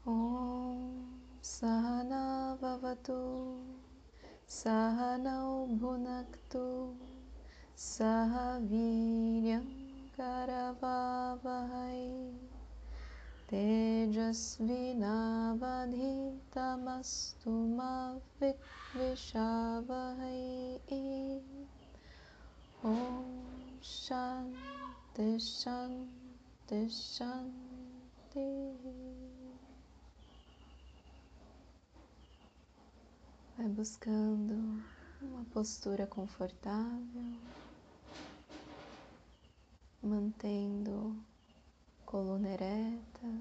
Om Sahana Bhavatu Sahanau Bhunaktu Sahaviryam Karavavahai Tejasvinavadhitamastu ma Vidvishavahai. Om Shanti Shanti Shanti. Vai buscando uma postura confortável, mantendo coluna ereta,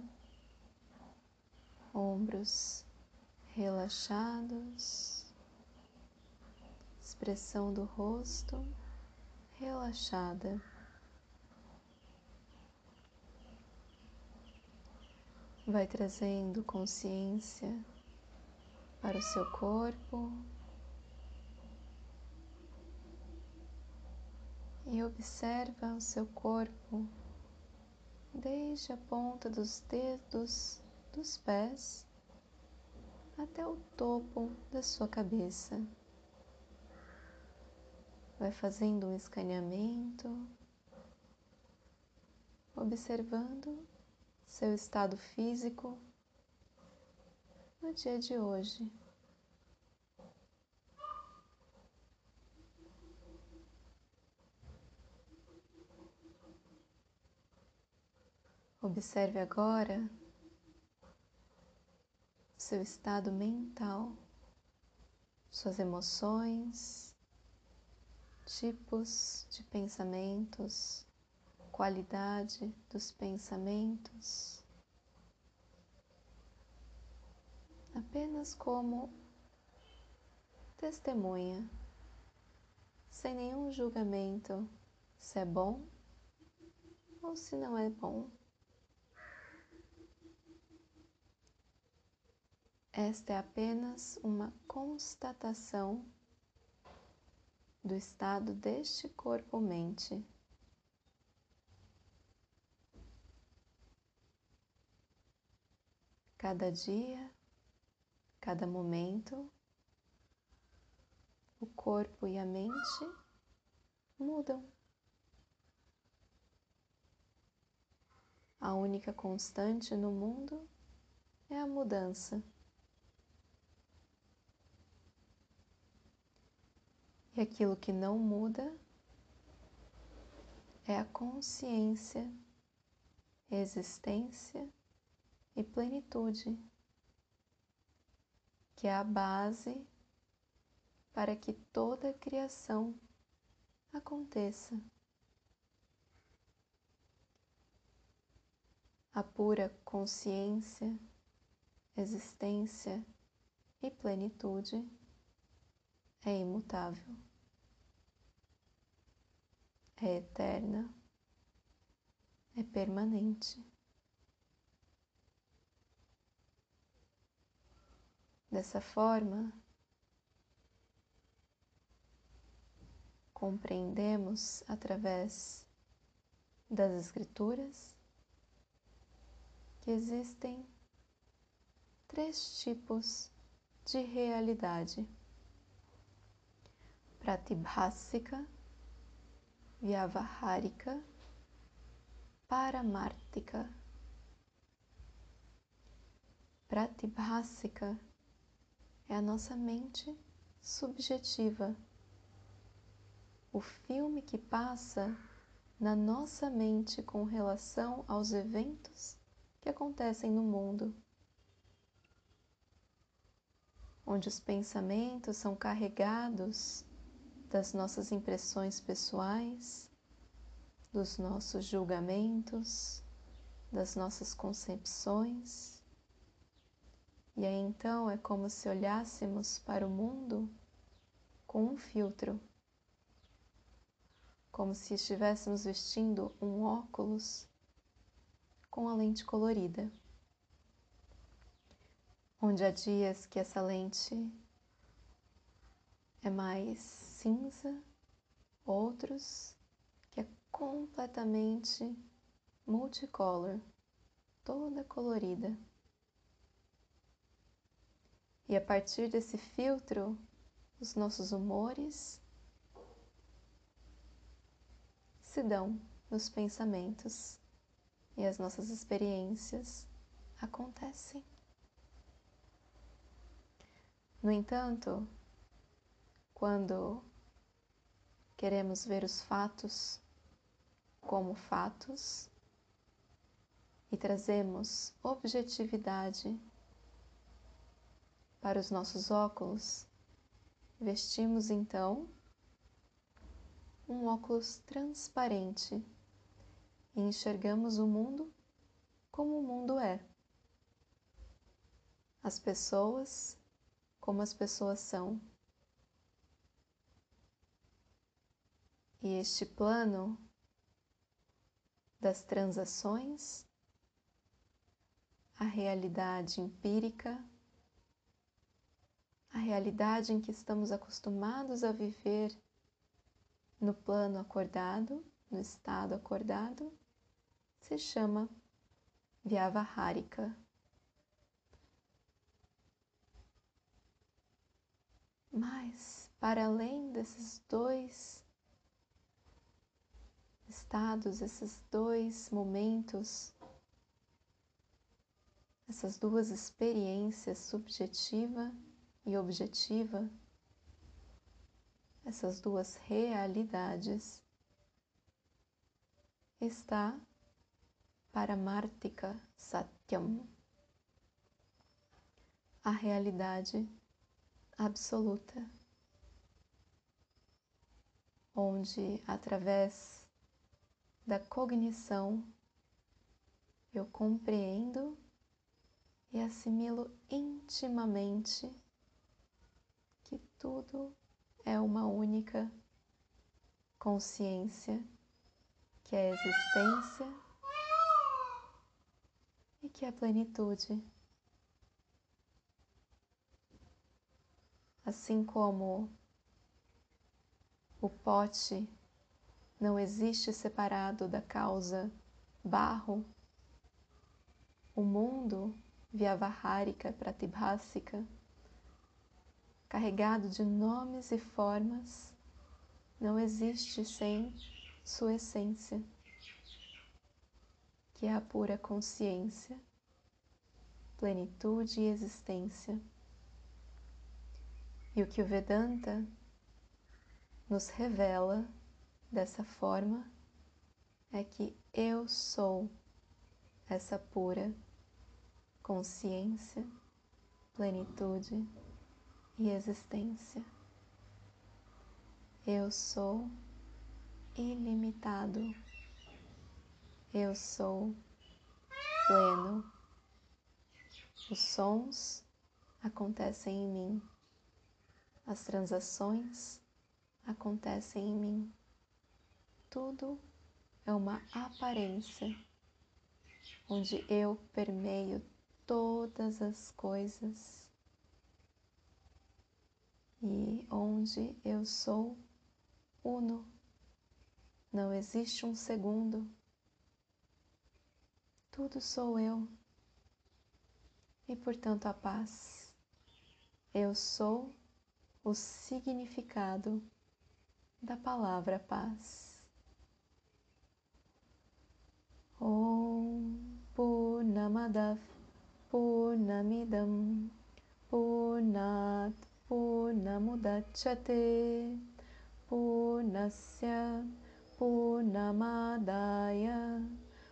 ombros relaxados, expressão do rosto relaxada. Vai trazendo consciência para o seu corpo e observa o seu corpo desde a ponta dos dedos dos pés até o topo da sua cabeça. Vai fazendo um escaneamento, observando seu estado físico no dia de hoje. Observe agora seu estado mental, suas emoções, tipos de pensamentos, qualidade dos pensamentos, apenas como testemunha, sem nenhum julgamento se é bom ou se não é bom. Esta é apenas uma constatação do estado deste corpo-mente. Cada dia, cada momento, o corpo e a mente mudam. A única constante no mundo é a mudança. E aquilo que não muda é a consciência, existência e plenitude, que é a base para que toda a criação aconteça. A pura consciência, existência e plenitude é imutável, é eterna, é permanente. Dessa forma, compreendemos através das Escrituras que existem 3 tipos de realidade: Pratibhasika, Vyavahārika, Paramārtika. Pratibhasika é a nossa mente subjetiva, o filme que passa na nossa mente com relação aos eventos que acontecem no mundo, onde os pensamentos são carregados das nossas impressões pessoais, dos nossos julgamentos, das nossas concepções. E aí então é como se olhássemos para o mundo com um filtro, como se estivéssemos vestindo um óculos com a lente colorida, onde há dias que essa lente é mais cinza, outros que é completamente multicolor, toda colorida. E a partir desse filtro, os nossos humores se dão nos pensamentos e as nossas experiências acontecem. No entanto, quando queremos ver os fatos como fatos e trazemos objetividade para os nossos óculos, vestimos então um óculos transparente e enxergamos o mundo como o mundo é. As pessoas como as pessoas são. E este plano das transações, a realidade empírica, a realidade em que estamos acostumados a viver no plano acordado, no estado acordado, se chama Vyavaharika. Mas, para além desses dois estados, esses dois momentos, essas duas experiências, subjetiva e objetiva, essas duas realidades, está Paramartika Satyam, a realidade absoluta, onde através da cognição eu compreendo e assimilo intimamente que tudo é uma única consciência, que é a existência e que é a plenitude. Assim como o pote não existe separado da causa barro, o mundo Vyavaharika Pratibhasika, carregado de nomes e formas, não existe sem sua essência, que é a pura consciência, plenitude e existência. E o que o Vedanta nos revela dessa forma é que eu sou essa pura consciência, plenitude e existência. Eu sou ilimitado. Eu sou pleno. Os sons acontecem em mim. As transações acontecem em mim. Tudo é uma aparência, onde eu permeio todas as coisas e onde eu sou uno. Não existe um segundo. Tudo sou eu. E, portanto, a paz. Eu sou o significado da palavra paz. Om Purnamadav Purnamidam Purnat Purnamudachyate Purnasya Purnamadaya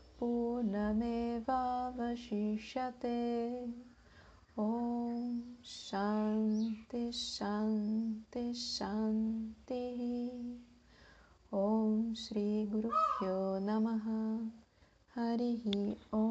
Purnamevavashishyate. Om Shanti Shanti Shanti. Om Shri Guru Pyo Namaha. Harihi Om.